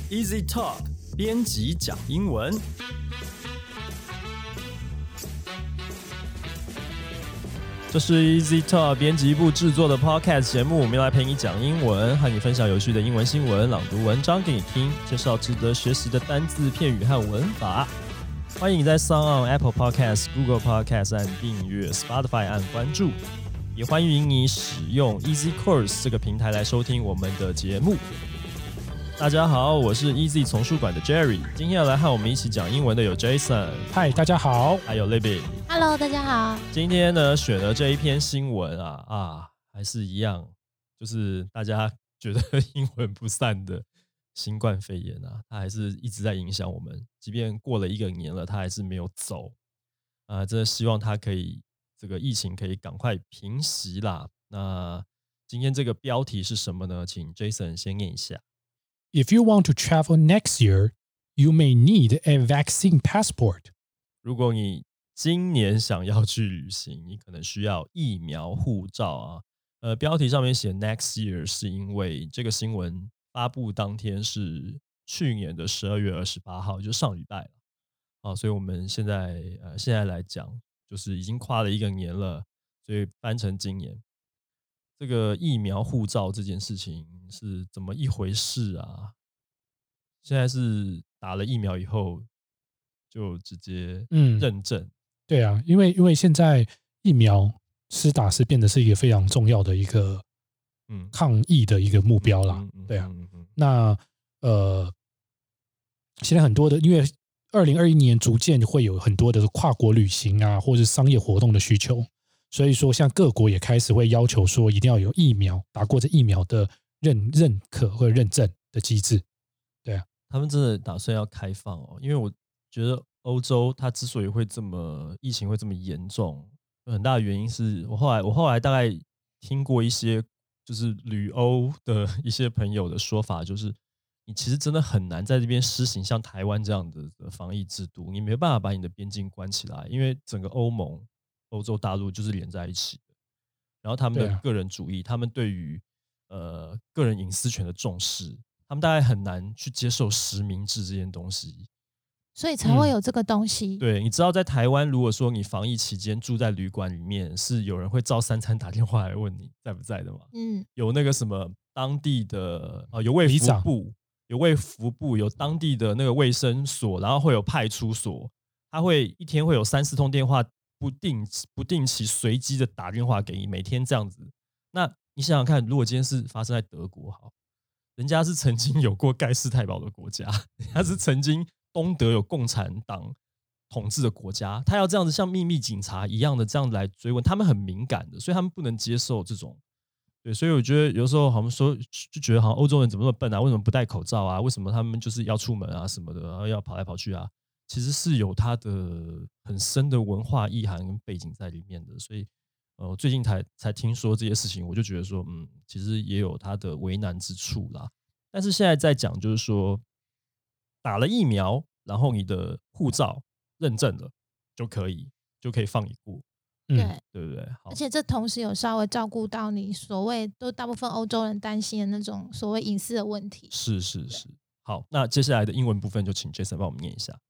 Easy Talk 编辑讲英文。这是 Easy Talk 编辑部制作的 Podcast 节目，我们要来陪你讲英文，和你分享有趣的英文新闻、朗读文章给你听，介绍值得学习的单字、片语和文法。欢迎你在 SoundOn、Apple Podcast、Google Podcast 按订阅 ，Spotify 按关注，也欢迎你使用 Easy Course 这个平台来收听我们的节目。大家好，我是 Easy 丛书馆的 Jerry， 今天要来和我们一起讲英文的有 Jason， 嗨，大家好， 还有 Libby。 Hello， 大家好。 今天呢，选了这一篇新闻还是一样，就是大家觉得阴魂不散的新冠肺炎它还是一直在影响我们，即便过了1个年了，它还是没有走真的希望它可以这个疫情可以赶快平息啦。那今天这个标题是什么呢？请 Jason 先念一下。 If you want to travel next year, you may need a vaccine passport. 如果你今年想要去旅行，你可能需要疫苗护照标题上面写 next year 是因为这个新闻发布当天是去年的12月28号，就上礼拜了所以我们现在来讲，就是已经跨了1个年了，所以翻成今年。这个疫苗护照这件事情是怎么一回事啊？现在是打了疫苗以后就直接认证。 对啊，因为现在疫苗施打是变得是一个非常重要的一个抗疫的一个目标啦。对啊，那现在很多的，因为2021年逐渐会有很多的跨国旅行或是商业活动的需求，所以说像各国也开始会要求说一定要有疫苗打过这疫苗的认可或者认证的机制。对啊， 他们真的打算要开放因为我觉得欧洲它之所以会疫情会这么严重，很大的原因是我后来大概听过一些就是旅欧的一些朋友的说法，就是你其实真的很难在这边施行像台湾这样的防疫制度，你没办法把你的边境关起来，因为整个欧盟、欧洲大陆就是连在一起的。然后他们的个人主义，他们对于个人隐私权的重视，他们大概很难去接受实名制这件东西， 所以才会有这个东西。 对，你知道在台湾，如果说你防疫期间住在旅馆里面，是有人会照3餐打电话来问你在不在的吗？有那个什么当地的有卫福部，有当地的那个卫生所，然后会有派出所，他会一天会有3-4通电话，不定期随机的打电话给你，每天这样子。那你想想看，如果今天是发生在德国，好，人家是曾经有过盖世太保的国家，人家是曾经东德有共产党统治的国家，他要这样子像秘密警察一样的这样来追问，他们很敏感的，所以他们不能接受这种。对，所以我觉得有时候好像说就觉得好像欧洲人怎么那么笨为什么不戴口罩为什么他们就是要出门什么的，然后要跑来跑去其实是有它的很深的文化意涵跟背景在里面的。所以最近才听说这些事情，我就觉得说其实也有它的为难之处啦。但是现在在讲就是说打了疫苗，然后你的护照认证了就可以放你过。对不对？ 而且这同时有稍微照顾到你所谓都大部分欧洲人担心的那种所谓隐私的问题。 是。好，那接下来的英文部分就请 Jason 帮我们念一下。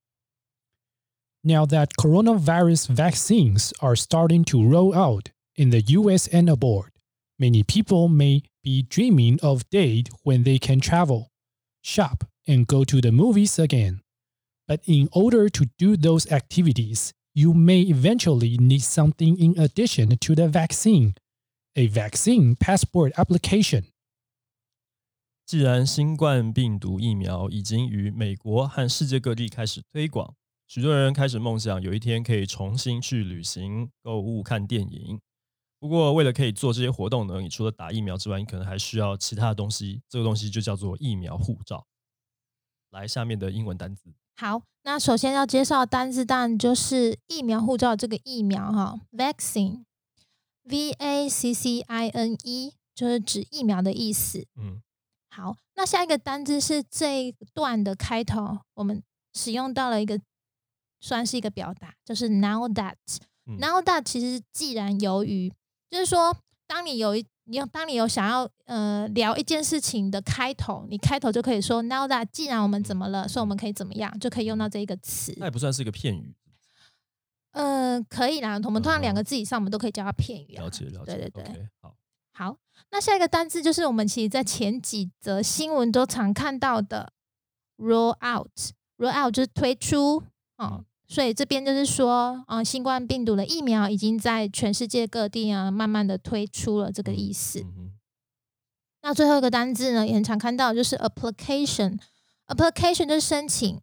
Now that coronavirus vaccines are starting to roll out in the US and abroad, many people may be dreaming of a day when they can travel, shop, and go to the movies again. But in order to do those activities, you may eventually need something in addition to the vaccine, a vaccine passport application. 既然新冠病毒疫苗已经于美国和世界各地开始推广，许多人开始梦想有一天可以重新去旅行、购物、看电影。不过为了可以做这些活动呢，你除了打疫苗之外，你可能还需要其他的东西，这个东西就叫做疫苗护照。来，下面的英文单字。 好，那首先要介绍的单字当然就是疫苗护照这个疫苗vaccine VACCINE 就是指疫苗的意思。好，那下一个单字是这一段的开头，我们使用到了算是一个表达，就是 now that。now that 其实既然由于，就是说当你当你有想要聊一件事情的开头，你开头就可以说 Now that 既然我们怎么了，所以我们可以怎么样，就可以用到这一个词。 那也不算是一个片语。 可以啦，我们通常2个字以上，我们都可以叫它片语。 了解。 对， okay, 好，那下一个单字就是我们其实在前几则新闻都常看到的 roll out。roll out 就是推出所以这边就是说新冠病毒的疫苗已经在全世界各地慢慢的推出了这个意思。那最后一个单字呢，也很常看到，就是 application 就是申請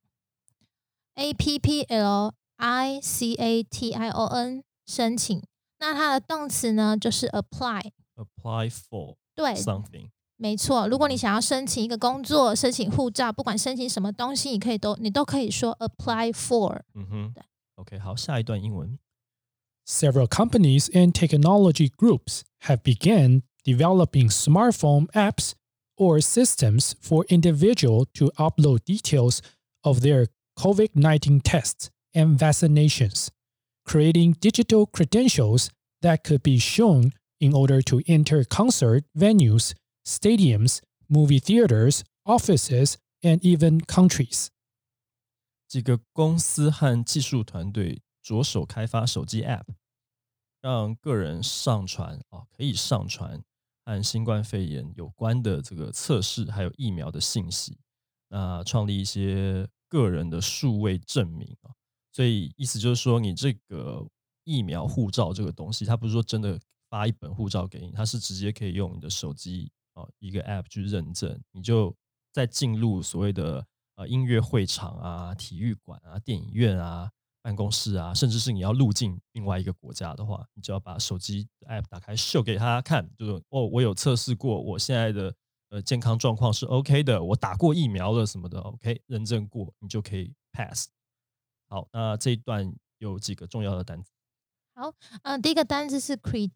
APPLICATION 申请。那它的动词呢就是 apply for 对 something。 没错，如果你想要申请一个工作，申请护照，不管申请什么东西，你都可以说 apply for。 对 OK， 好，下一段英文。 Several companies and technology groups have begun developing smartphone apps or systems for individuals to upload details of their COVID-19 tests and vaccinations, creating digital credentials that could be shown in order to enter concert venues, stadiums, movie theaters, offices, and even countries. 几个公司和技术团队着手开发手机 App， 让个人上传可以上传和新冠肺炎有关的这个测试还有疫苗的信息，那创立一些个人的数位证明。所以意思就是说，你这个疫苗护照这个东西，它不是说真的发一本护照给你，它是直接可以用你的手机一个 App 去认证，你就再进入所谓的音乐会场啊、体育馆啊、电影院啊、办公室啊，甚至是你要入境另外一个国家的话，你就要把手机 App 打开秀给他看，就是我有测试过，我现在的健康状况是 OK 的，我打过疫苗了什么的 OK 认证过，你就可以 pass。好，那这一段有几个重要的单词。 好，第一个单字是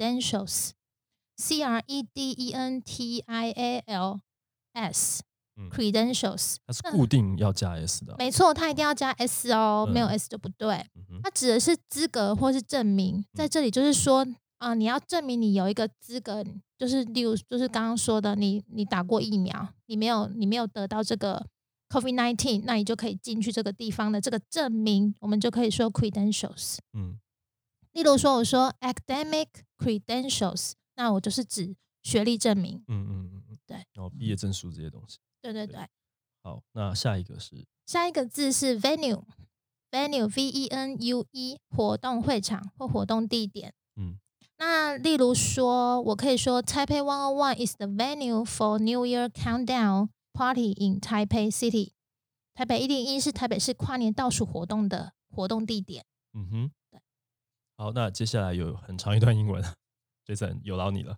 credentials。credentials，credentials， 它是固定要加 s 的。 没错，它一定要加 s 哦，没有 s 就不对。它指的是资格或是证明，在这里就是说你要证明你有一个资格，就是例如就是刚刚说的，你打过疫苗，你没有得到这个 COVID-19， 那你就可以进去这个地方的这个证明，我们就可以说 credentials。例如说我说 academic credentials， 那我就是指学历证明。对， 然后毕业证书这些东西。 对。 好，那下一个字是 venue VENUE， 活动会场或活动地点。那例如说我可以说 Taipei 101 is the venue for New Year countdown party in Taipei City。 台北101是台北市跨年倒数活动的活动地点。 对。好，那接下来有很长一段英文，Jason 有劳你了。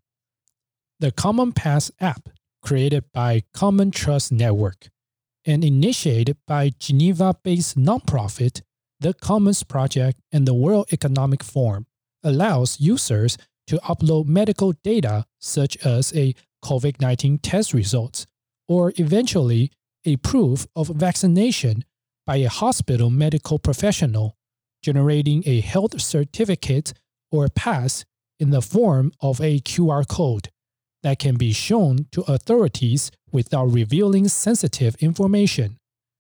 The Common Pass app, created by Common Trust Network and initiated by Geneva-based nonprofit The Commons Project and the World Economic Forum, allows users to upload medical data such as a COVID-19 test results or eventually a proof of vaccination by a hospital medical professional, generating a health certificate or pass in the form of a QR code that can be shown to authorities without revealing sensitive information.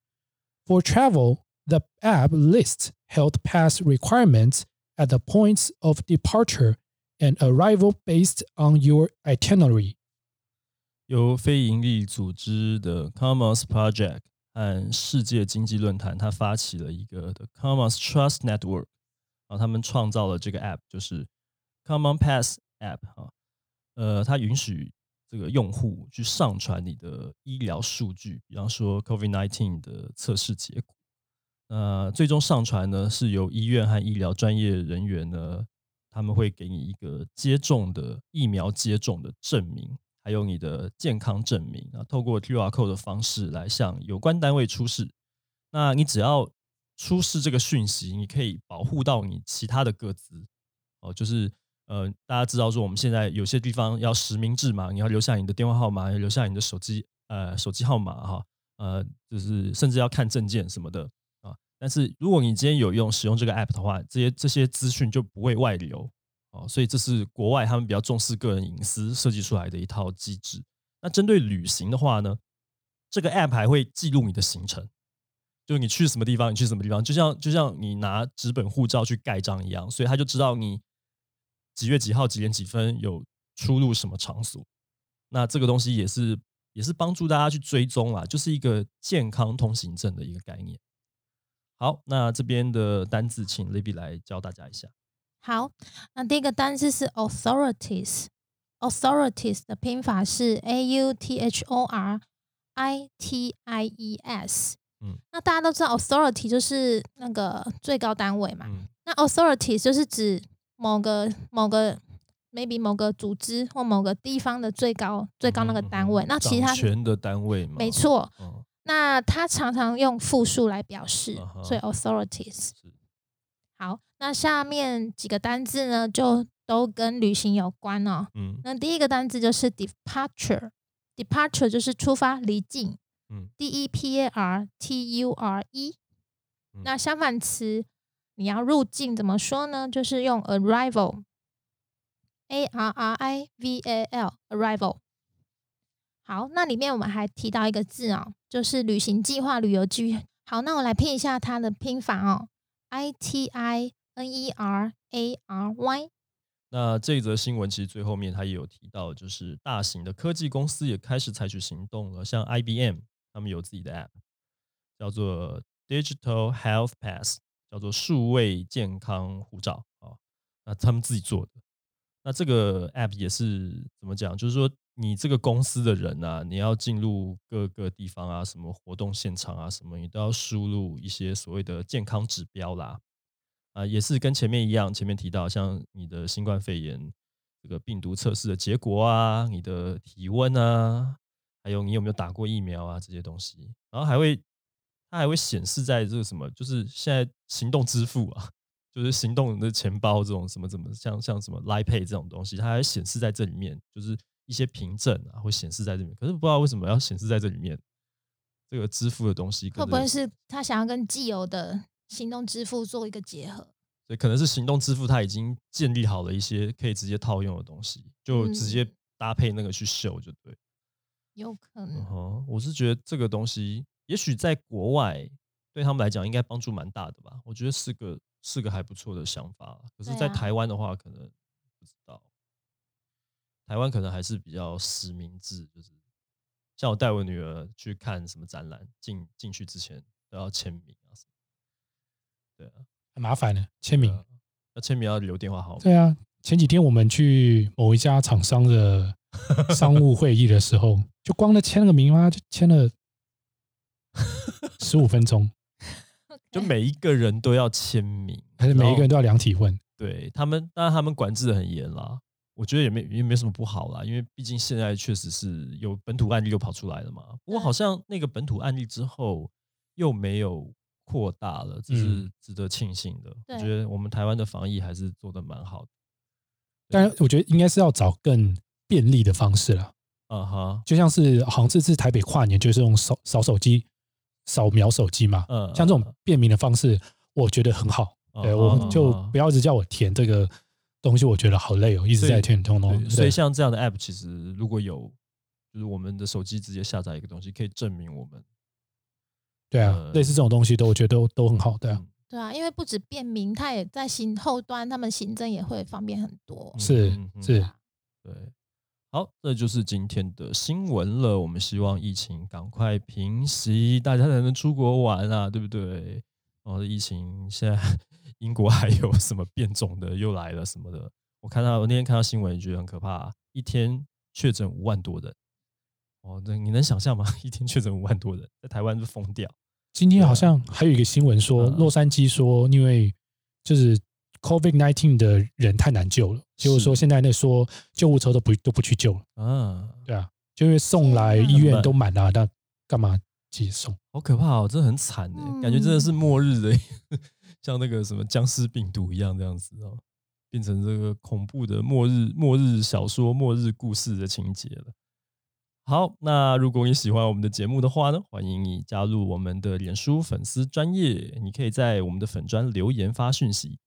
For travel, the app lists health pass requirements at the points of departure and arrival based on your itinerary. 由非营利组织的 Commons Project 和世界经济论坛，它发起了一个 The Commons Trust Network， 然后他们创造了这个 app， 就是 Common Pass app。它允许这个用户去上传你的医疗数据，比方说 COVID-19 的测试结果。最终上传呢是由医院和医疗专业人员呢，他们会给你一个疫苗接种的证明，还有你的健康证明，透过 QR code 的方式来向有关单位出示。那你只要出示这个讯息，你可以保护到你其他的个资。就是大家知道说我们现在有些地方要实名制嘛，你要留下你的电话号码，要留下你的手机号码就是甚至要看证件什么的但是如果你今天有使用这个 app 的话，这些资讯就不会外流所以这是国外他们比较重视个人隐私设计出来的一套机制。那针对旅行的话呢，这个 App 还会记录你的行程，就是你去什么地方，你去什么地方，就像你拿纸本护照去盖章一样，所以他就知道你几月几号几点几分有出入什么场所。那这个东西也是帮助大家去追踪啦，就是一个健康通行证的一个概念。好，那这边的单字请 Libby 来教大家一下。 好，那第一个单字是 authorities。authorities 的拼法是 authorities。那大家都知道 authority 就是那个最高单位嘛。那 authorities 就是指某个 maybe 某个组织或某个地方的最高那个单位。那其他掌权的单位嘛。 没错。那它常常用复数来表示，所以 authorities。好，那下面几个单字呢，就都跟旅行有关哦。那第一个单字就是 departure。departure 就是出发、离境。DEPARTURE。那相反词你要入境怎么说呢？就是用 arrival。arrival。好，那里面我们还提到一个字哦，就是旅行计划、旅游计划。好，那我来拼一下它的拼法哦 ，ITINERARY。 那这则新闻其实最后面它也有提到，就是大型的科技公司也开始采取行动了，像 IBM 他们有自己的 App， 叫做 Digital Health Pass， 叫做数位健康护照那他们自己做的。那这个 App 也是怎么讲？就是说，你这个公司的人啊，你要进入各个地方啊，什么活动现场啊，什么你都要输入一些所谓的健康指标啦。也是跟前面一样，前面提到像你的新冠肺炎这个病毒测试的结果啊，你的体温啊，还有你有没有打过疫苗啊这些东西，然后它还会显示在这个什么，就是现在行动支付啊。就是行动的钱包这种什么像什么 Line Pay 这种东西，它还显示在这里面，就是一些凭证啊会显示在这里面。可是不知道为什么要显示在这里面，这个支付的东西会不会是他想要跟既有的行动支付做一个结合？ 所以可能是行动支付它已经建立好了一些可以直接套用的东西，就直接搭配那个去秀就对。 有可能。 我是觉得这个东西也许在国外对他们来讲应该帮助蛮大的吧，我觉得是个还不错的想法。可是在台湾的话可能不知道，台湾可能还是比较实名制，就是像我带我女儿去看什么展览，进去之前都要签名啊什么。对啊， 很麻烦的签名。 要签名要留电话号码。 对啊，前几天我们去某一家厂商的商务会议的时候，就光签了个名就签了15分钟。 就每一个人都要签名， 还是每一个人都要量体温？ 对他们，当然他们管制的很严啦。我觉得也没什么不好啦，因为毕竟现在确实是有本土案例又跑出来了嘛。不过好像那个本土案例之后又没有扩大了，这是值得庆幸的。我觉得我们台湾的防疫还是做得蛮好的。 但我觉得应该是要找更便利的方式啦。就像是好像这次台北跨年就是用手机。扫描手机嘛，像这种便民的方式，我觉得很好。对，我就不要一直叫我填这个东西，我觉得好累哦，一直在填通。 所以像这样的 App， 其实如果有，就是我们的手机直接下载一个东西，可以证明我们。 对啊，类似这种东西我觉得都很好。对啊， 对啊，因为不止便民，它也在后端，他们行政也会方便很多。 是，对。 好，这就是今天的新闻了。我们希望疫情赶快平息，大家才能出国玩啊，对不对？疫情现在英国还有什么变种的又来了什么的，我那天看到新闻，觉得很可怕一天确诊5万多人。你能想象吗？一天确诊5万多人，在台湾就疯掉。 今天好像还有一个新闻说，洛杉矶说，因为就是。COVID-19 的人太难救了，结果说现在说救护车都不去救了。对啊，就因为送来医院都满了，那干嘛接送？ 好可怕哦，真的很惨感觉真的是末日的，像那个什么僵尸病毒一样这样子变成这个恐怖的末日小说、末日故事的情节了。好，那如果你喜欢我们的节目的话呢，欢迎你加入我们的脸书粉丝专页，你可以在我们的粉专留言发讯息。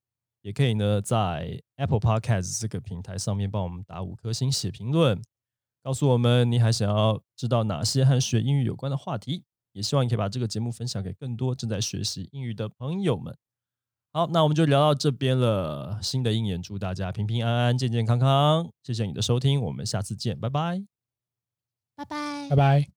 也可以呢在 Apple Podcast 这个平台上面帮我们打5颗星写评论，告诉我们你还想要知道哪些和学英语有关的话题，也希望你可以把这个节目分享给更多正在学习英语的朋友们。好，那我们就聊到这边了。新的一年祝大家平平安安、健健康康。谢谢你的收听，我们下次见，拜拜， 拜拜， 拜拜。